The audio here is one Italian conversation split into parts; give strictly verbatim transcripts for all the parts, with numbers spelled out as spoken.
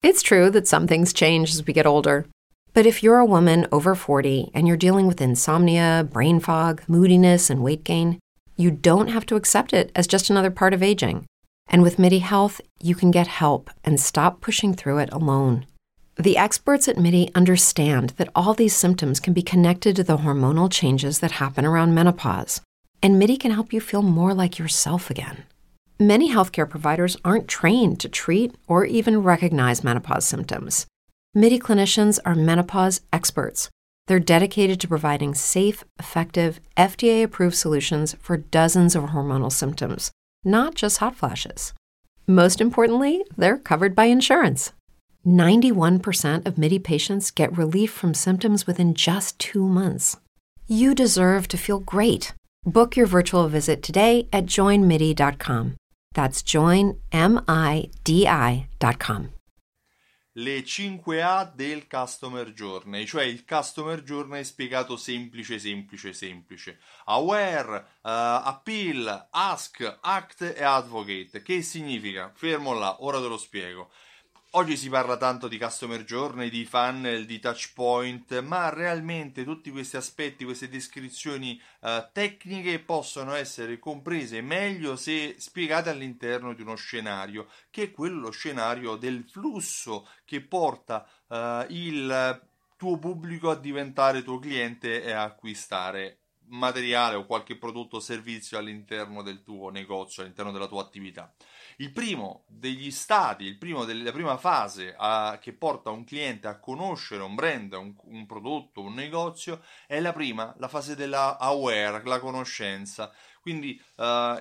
It's true that some things change as we get older. But if you're a woman over forty and you're dealing with insomnia, brain fog, moodiness, and weight gain, you don't have to accept it as just another part of aging. And with MIDI Health, you can get help and stop pushing through it alone. The experts at MIDI understand that all these symptoms can be connected to the hormonal changes that happen around menopause, and MIDI can help you feel more like yourself again. Many healthcare providers aren't trained to treat or even recognize menopause symptoms. MIDI clinicians are menopause experts. They're dedicated to providing safe, effective, F D A-approved solutions for dozens of hormonal symptoms, not just hot flashes. Most importantly, they're covered by insurance. ninety-one percent of MIDI patients get relief from symptoms within just two months. You deserve to feel great. Book your virtual visit today at join midi dot com. That's join midi dot com. Le cinque A del Customer Journey, cioè il Customer Journey spiegato semplice, semplice, semplice. Aware, uh, Appeal, Ask, Act e Advocate. Che significa? Fermo là, ora te lo spiego. Oggi si parla tanto di Customer Journey, di funnel, di touch point, ma realmente tutti questi aspetti, queste descrizioni uh, tecniche possono essere comprese meglio se spiegate all'interno di uno scenario, che è quello lo scenario del flusso che porta uh, il tuo pubblico a diventare tuo cliente e a acquistare materiale o qualche prodotto o servizio all'interno del tuo negozio, all'interno della tua attività. Il primo degli stadi, il primo della prima fase a, che porta un cliente a conoscere un brand, un, un prodotto, un negozio, è la prima, la fase della aware, la conoscenza. Quindi uh,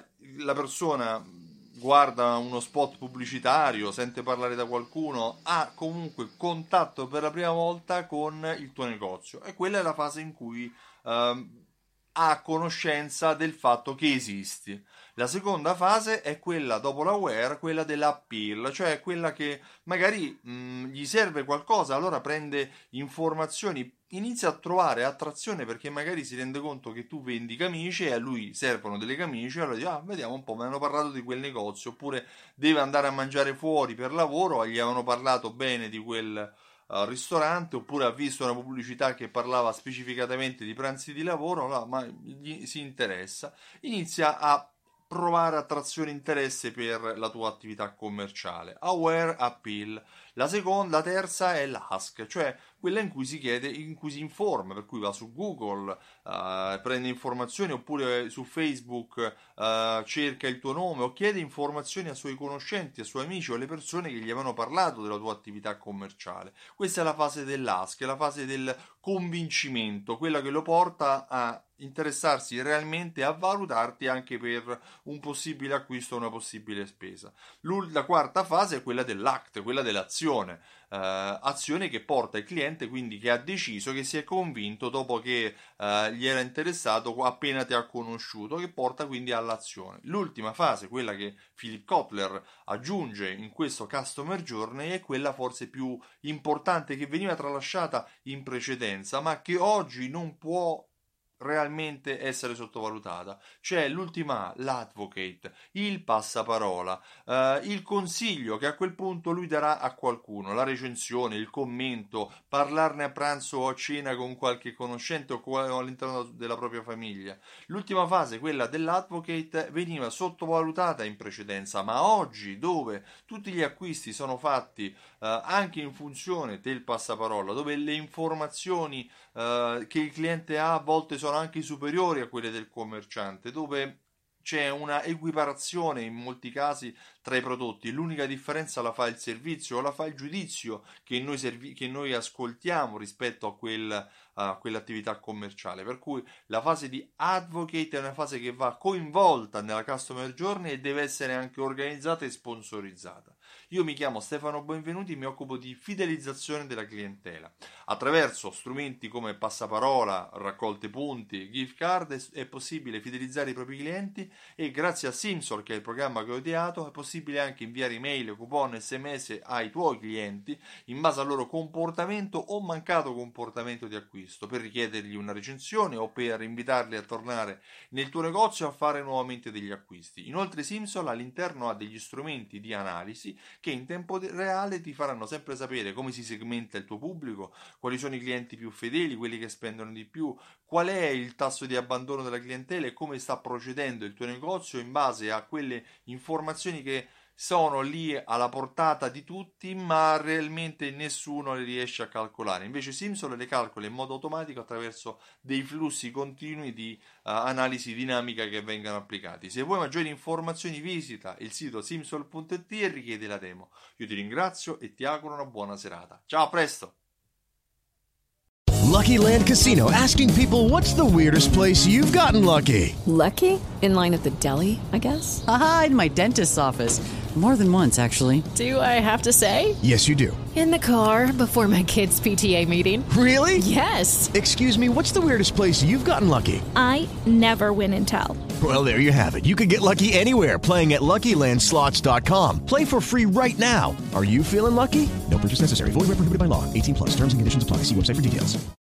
la persona guarda uno spot pubblicitario, sente parlare da qualcuno, ha comunque contatto per la prima volta con il tuo negozio, e quella è la fase in cui uh, ha conoscenza del fatto che esisti. La seconda fase è quella dopo l'aware, quella dell'appeal, cioè quella che magari mh, gli serve qualcosa, allora prende informazioni, inizia a trovare attrazione perché magari si rende conto che tu vendi camicie e a lui servono delle camicie, allora dice, ah, vediamo un po', mi hanno parlato di quel negozio, oppure deve andare a mangiare fuori per lavoro, gli avevano parlato bene di quel al ristorante, oppure ha visto una pubblicità che parlava specificatamente di pranzi di lavoro, no, ma gli si interessa, inizia a provare attrazione e interesse per la tua attività commerciale. Aware, appeal. La seconda, la terza è l'ask, cioè quella in cui si chiede, in cui si informa, per cui va su Google, uh, prende informazioni, oppure su Facebook uh, cerca il tuo nome o chiede informazioni ai suoi conoscenti, ai suoi amici o alle persone che gli avevano parlato della tua attività commerciale. Questa è la fase dell'ask, è la fase del convincimento, quella che lo porta a interessarsi realmente e a valutarti anche per un possibile acquisto o una possibile spesa. La quarta fase è quella dell'act, quella dell'azione, eh, azione che porta il cliente, quindi che ha deciso, che si è convinto dopo che eh, gli era interessato appena ti ha conosciuto, che porta quindi all'azione. L'ultima fase, quella che Philip Kotler aggiunge in questo Customer Journey, è quella forse più importante, che veniva tralasciata in precedenza ma che oggi non può realmente essere sottovalutata. C'è l'ultima A, l'advocate, il passaparola, eh, il consiglio che a quel punto lui darà a qualcuno, la recensione, il commento, parlarne a pranzo o a cena con qualche conoscente o all'interno della propria famiglia. L'ultima fase, quella dell'advocate, veniva sottovalutata in precedenza, ma oggi, dove tutti gli acquisti sono fatti eh, anche in funzione del passaparola, dove le informazioni eh, che il cliente ha a volte sono anche superiori a quelle del commerciante, dove c'è una equiparazione in molti casi tra i prodotti, l'unica differenza la fa il servizio o la fa il giudizio che noi, servi- che noi ascoltiamo rispetto a, quel, a quell'attività commerciale, per cui la fase di advocate è una fase che va coinvolta nella customer journey e deve essere anche organizzata e sponsorizzata. Io mi chiamo Stefano Benvenuti, mi occupo di fidelizzazione della clientela. Attraverso strumenti come passaparola, raccolte punti, gift card è possibile fidelizzare i propri clienti, e grazie a Simsol, che è il programma che ho ideato, è possibile anche inviare email, coupon, sms ai tuoi clienti in base al loro comportamento o mancato comportamento di acquisto, per richiedergli una recensione o per invitarli a tornare nel tuo negozio a fare nuovamente degli acquisti. Inoltre Simsol all'interno ha degli strumenti di analisi che in tempo reale ti faranno sempre sapere come si segmenta il tuo pubblico, quali sono i clienti più fedeli, quelli che spendono di più, qual è il tasso di abbandono della clientela e come sta procedendo il tuo negozio in base a quelle informazioni che sono lì alla portata di tutti, ma realmente nessuno le riesce a calcolare. Invece Simsol le calcola in modo automatico attraverso dei flussi continui di uh, analisi dinamica che vengono applicati. Se vuoi maggiori informazioni visita il sito simsol punto it e richiedi la demo. Io ti ringrazio e ti auguro una buona serata. Ciao, a presto! Lucky Land Casino, asking people, what's the weirdest place you've gotten lucky? Lucky? In line at the deli, I guess? Aha, in my dentist's office. More than once, actually. Do I have to say? Yes, you do. In the car before my kids' P T A meeting. Really? Yes. Excuse me, what's the weirdest place you've gotten lucky? I never win and tell. Well, there you have it. You can get lucky anywhere, playing at Lucky Land Slots dot com. Play for free right now. Are you feeling lucky? No purchase necessary. Void where prohibited by law. eighteen plus. Terms and conditions apply. See website for details.